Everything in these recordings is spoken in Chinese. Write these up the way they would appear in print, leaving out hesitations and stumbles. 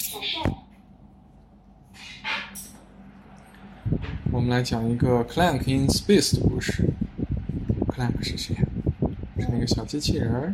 我们来讲一个 Clank in Space 的故事。Clank 是谁？是那个小机器人儿。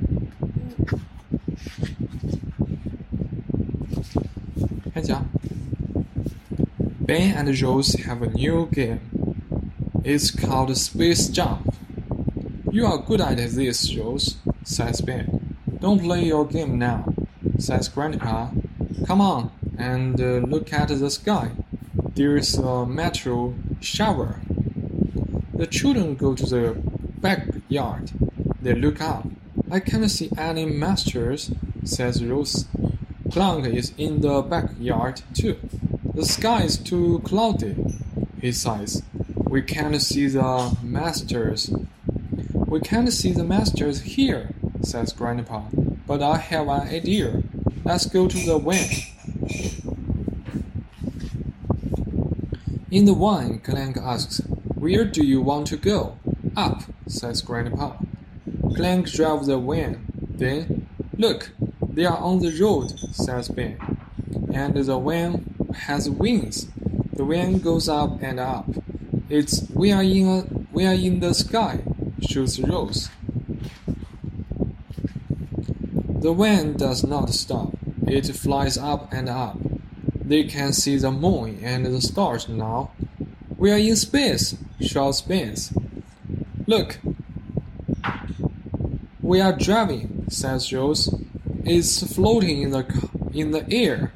开讲。Ben and Rose have a new game. It's called Space Jump. You are good at this, Rose, says Ben. Don't play your game now, says Grandpa. Come on and look at the sky. There's a meteor shower. The children go to the backyard. They look up. I can't see any meteors, says Rose. Clank is in the backyard too. The sky is too cloudy, he sighs. We can't see the meteors. We can't see the meteors here, says Grandpa. But I have an idea. Let's go to the van. In the van, Clank asks, Where do you want to go? Up, says Grandpa. Clank drives the van. Then, look, they are on the road, says Ben. And the van has wings. The van goes up and up. We are in the sky, shoots Rose. The van does not stop. It flies up and up. They can see the moon and the stars now. We are in space, shouts Ben. Look. We are driving, says Rose. It's floating in the air.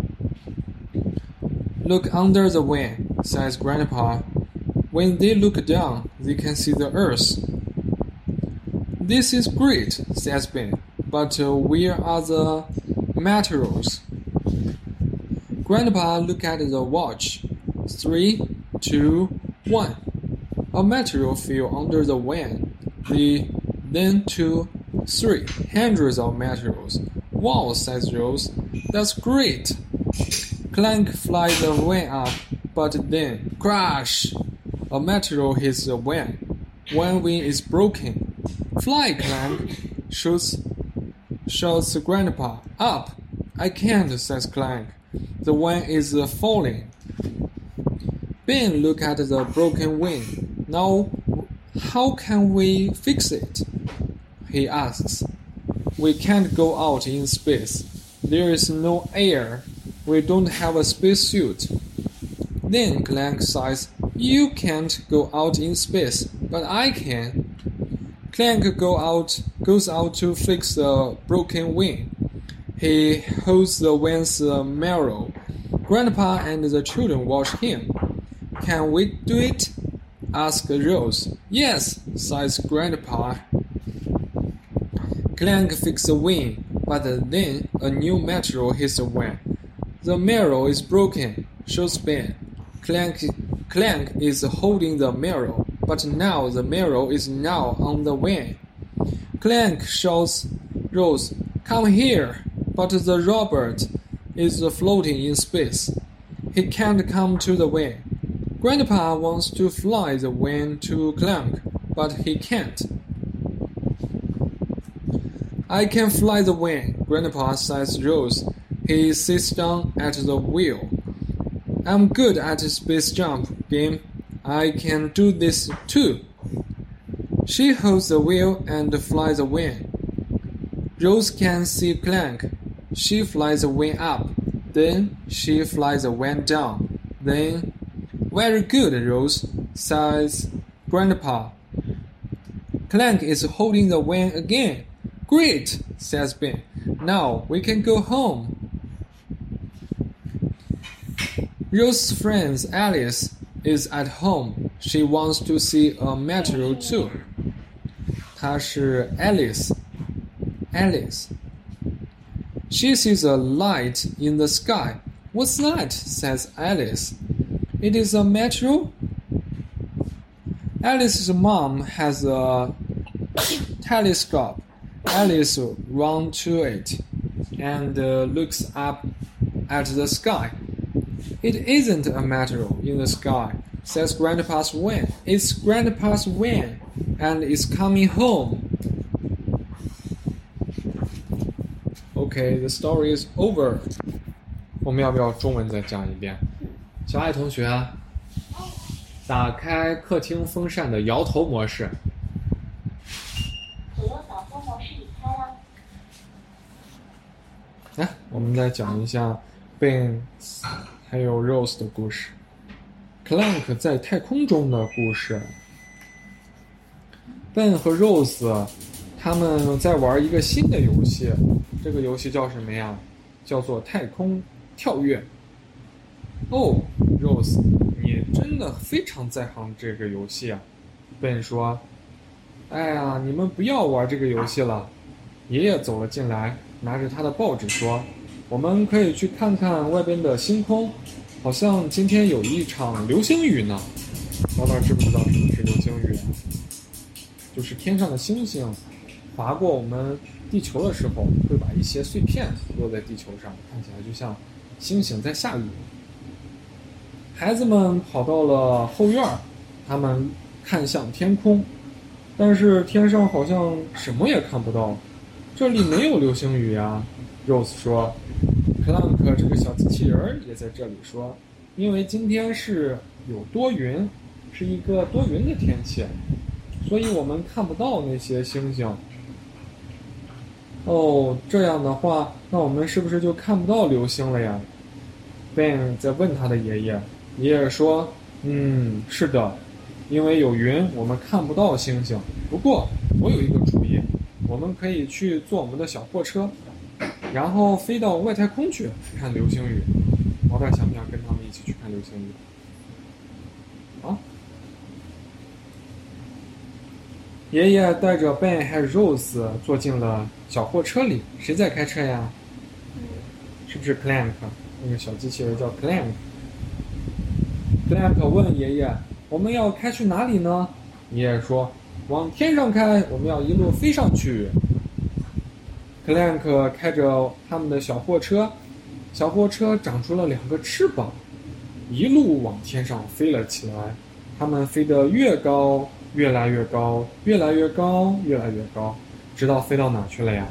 Look under the van, says Grandpa. When they look down, they can see the earth. This is great, says Ben. But where are the meteors? Grandpa looked at the watch. 3, 2, 1. A meteor fell under the van. Then 2, 3. Hundreds of meteors. Wow, says Rose. That's great. Clank flies the van up, but then crash! A meteor hits the van. One wing is broken. Fly, Clank! Shouts Grandpa. Up! I can't, says Clank. The van is falling. Ben looked at the broken wing. Now, how can we fix it? He asks. We can't go out in space. There is no air. We don't have a spacesuit. Then Clank sighs. You can't go out in space, but I can. Clank goes out to fix the broken wing. He holds the van's mirror. Grandpa and the children watch him. Can we do it? Asks Rose. Yes, sighs Grandpa. Clank fixes the wing, but then a new meteor hits the van. The mirror is broken, shows Ben. Clank is holding the mirror, but now the mirror is now on the van. Clank shouts Rose, Come here! But the robot is floating in space. He can't come to the van. Grandpa wants to fly the van to Clank, but he can't. I can fly the van, Grandpa says Rose. He sits down at the wheel. I'm good at space jump game. I can do this too. She holds the wheel and flies the van. Rose can see Clank. She flies the van up. Then she flies the van down. Then, very good, Rose, says Grandpa. Clank is holding the van again. Great, says Ben. Now we can go home. Rose's friend Alice is at home. She wants to see a meteor too. 她是 Alice. She sees a light in the sky. What's that? Says Alice. It is a meteor? Alice's mom has a telescope. Alice runs to it and looks up at the sky. It isn't a meteor in the sky, says Grandpa's van. It's Grandpa's van, and it's coming home. Okay, the story is over. 我们要不要中文再讲一遍？小爱同学，打开客厅风扇的摇头模式。 左右扫风模式已开了。 来，我们再讲一下 Ben 还有 Rose 的故事。Clank 在太空中的故事。Ben 和 Rose 他们在玩一个新的游戏，这个游戏叫什么呀？叫做太空跳跃。哦 ，Rose， 你真的非常在行这个游戏啊。Ben 说：“哎呀，你们不要玩这个游戏了。”爷爷走了进来，拿着他的报纸说：“我们可以去看看外边的星空，好像今天有一场流星雨呢。”老板知不知道什么是流星雨？就是天上的星星划过我们地球的时候，会把一些碎片落在地球上，看起来就像星星在下雨。孩子们跑到了后院，他们看向天空，但是天上好像什么也看不到。这里没有流星雨呀，Rose 说。Clank 这个小机器人也在这里说，因为今天是有多云，是一个多云的天气，所以我们看不到那些星星。哦，这样的话，那我们是不是就看不到流星了呀？ Ben 在问他的爷爷，爷爷说，是的，因为有云，我们看不到星星。不过，我有一个主意，我们可以去坐我们的小货车，然后飞到外太空去看流星雨。老大想不想跟他们一起去看流星雨？啊？爷爷带着 Ben 和 Rose 坐进了小货车里。谁在开车呀？是不是 Clank？ 那个小机器人叫 Clank。Clank 问爷爷：“我们要开去哪里呢？”爷爷说：“往天上开，我们要一路飞上去。” Clank 开着他们的小货车，小货车长出了2个翅膀，一路往天上飞了起来。他们飞得越高，越来越高，越来越高，越来越高，直到飞到哪去了呀？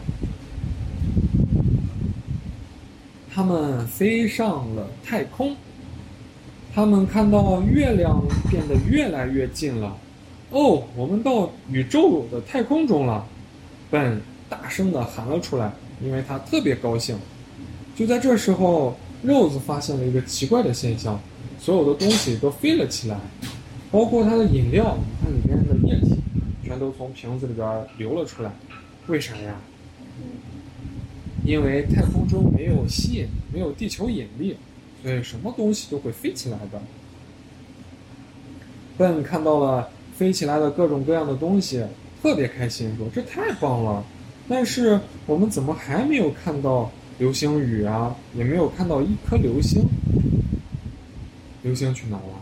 他们飞上了太空。他们看到月亮变得越来越近了。哦，我们到宇宙的太空中了。Ben 大声地喊了出来，因为他特别高兴。就在这时候， Rose 发现了一个奇怪的现象，所有的东西都飞了起来，包括它的饮料，你看里边的液体全都从瓶子里边流了出来。为啥呀？因为太空中没有吸引，没有地球引力，所以什么东西都会飞起来的。Ben 看到了飞起来的各种各样的东西，特别开心，说：“这太棒了！但是我们怎么还没有看到流星雨啊？也没有看到一颗流星。流星去哪了？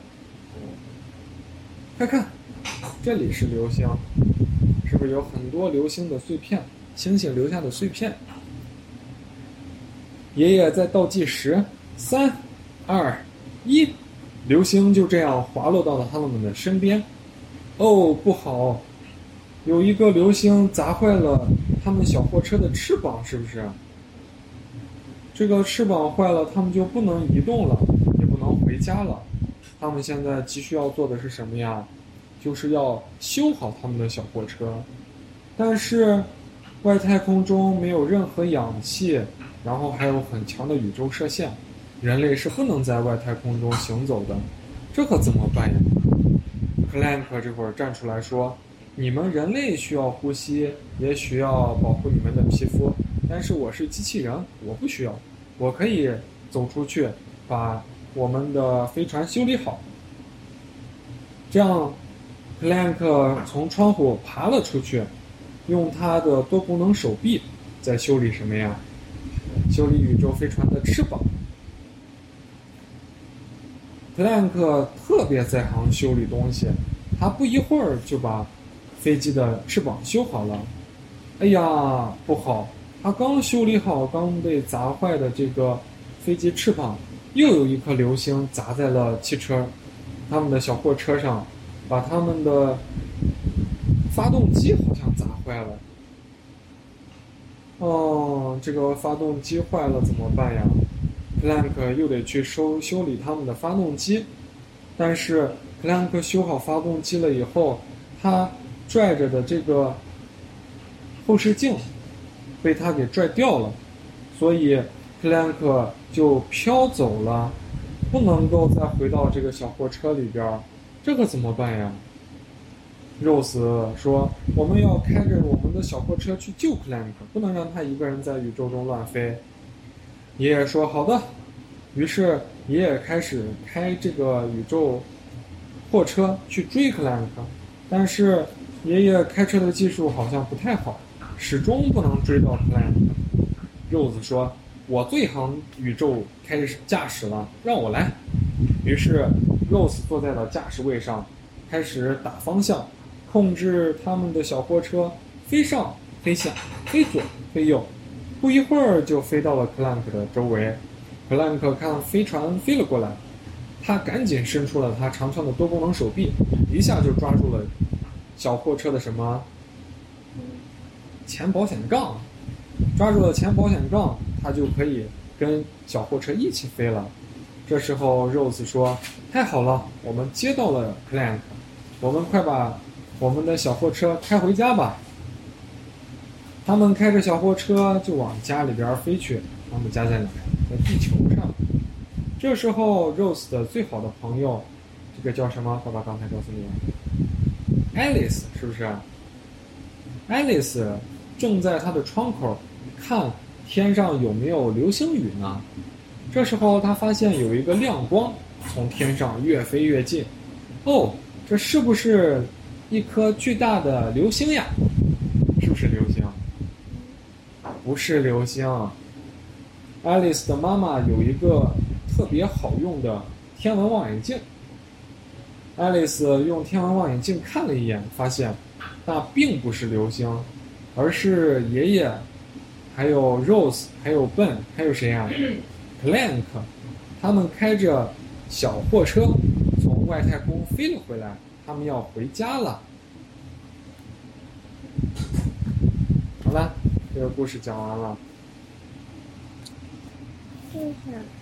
快看，这里是流星，是不是有很多流星的碎片？星星留下的碎片。”爷爷在倒计时，3、2、1，流星就这样滑落到了他们的身边。哦，不好，有一个流星砸坏了他们小货车的翅膀，是不是？这个翅膀坏了，他们就不能移动了，也不能回家了。他们现在急需要做的是什么呀？就是要修好他们的小货车。但是外太空中没有任何氧气，然后还有很强的宇宙射线，人类是不能在外太空中行走的，这可怎么办呀？ Clank 这会儿站出来说，你们人类需要呼吸，也需要保护你们的皮肤，但是我是机器人，我不需要，我可以走出去把我们的飞船修理好。这样 Clank 从窗户爬了出去，用他的多功能手臂在修理什么呀？修理宇宙飞船的翅膀。Clank 特别在行修理东西，他不一会儿就把飞机的翅膀修好了。哎呀，不好，他刚修理好刚被砸坏的这个飞机翅膀，又有一颗流星砸在了汽车，他们的小货车上，把他们的发动机好像砸坏了。哦，这个发动机坏了怎么办呀？ 克兰克又得去修理他们的发动机。但是克兰克修好发动机了以后，他拽着的这个后视镜被他给拽掉了，所以克兰克就飘走了，不能够再回到这个小货车里边。这可怎么办呀？Rose 说：“我们要开着我们的小货车去救克兰克，不能让他一个人在宇宙中乱飞。”爷爷说：“好的。”于是爷爷开始开这个宇宙货车去追克兰克，但是爷爷开车的技术好像不太好，始终不能追到克兰克。Rose 说：“我最行宇宙驾驶了，让我来。”于是 Rose 坐在了驾驶位上，开始打方向，控制他们的小货车飞上飞下，飞左飞右，不一会儿就飞到了克兰克的周围。克兰克看飞船飞了过来，他赶紧伸出了他长长的多功能手臂，一下就抓住了小货车的什么前保险杠，抓住了前保险杠，他就可以跟小货车一起飞了。这时候 Rose 说：“太好了，我们接到了克兰克，我们快把我们的小货车开回家吧。”他们开着小货车就往家里边飞去。他们家在哪？在地球上。这时候 Rose 的最好的朋友，这个叫什么？爸爸刚才告诉你 ，Alice 是不是 ？Alice 正在她的窗口看天上有没有流星雨呢。这时候他发现有一个亮光从天上越飞越近。哦，这是不是一颗巨大的流星呀？是不是流星？不是流星。Alice 的妈妈有一个特别好用的天文望远镜。Alice 用天文望远镜看了一眼，发现那并不是流星，而是爷爷，还有 Rose， 还有 Ben， 还有谁呀？Clank， 他们开着小货车从外太空飞了回来，他们要回家了。好了，这个故事讲完了。 谢谢。